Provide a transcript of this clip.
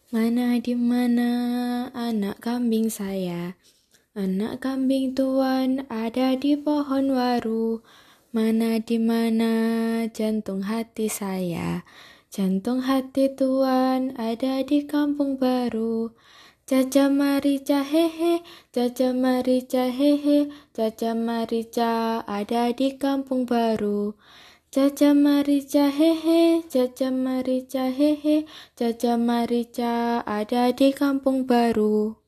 Mana di mana anak kambing saya? Anak kambing tuan ada di pohon waru. Mana di mana jantung hati saya? Jantung hati tuan ada di kampung baru. Caca Marica hehe, Caca Marica hehe, Caca Marica ada di kampung baru. Caca Marica hehe, Caca Marica hehe, Caca Marica ada di kampung baru.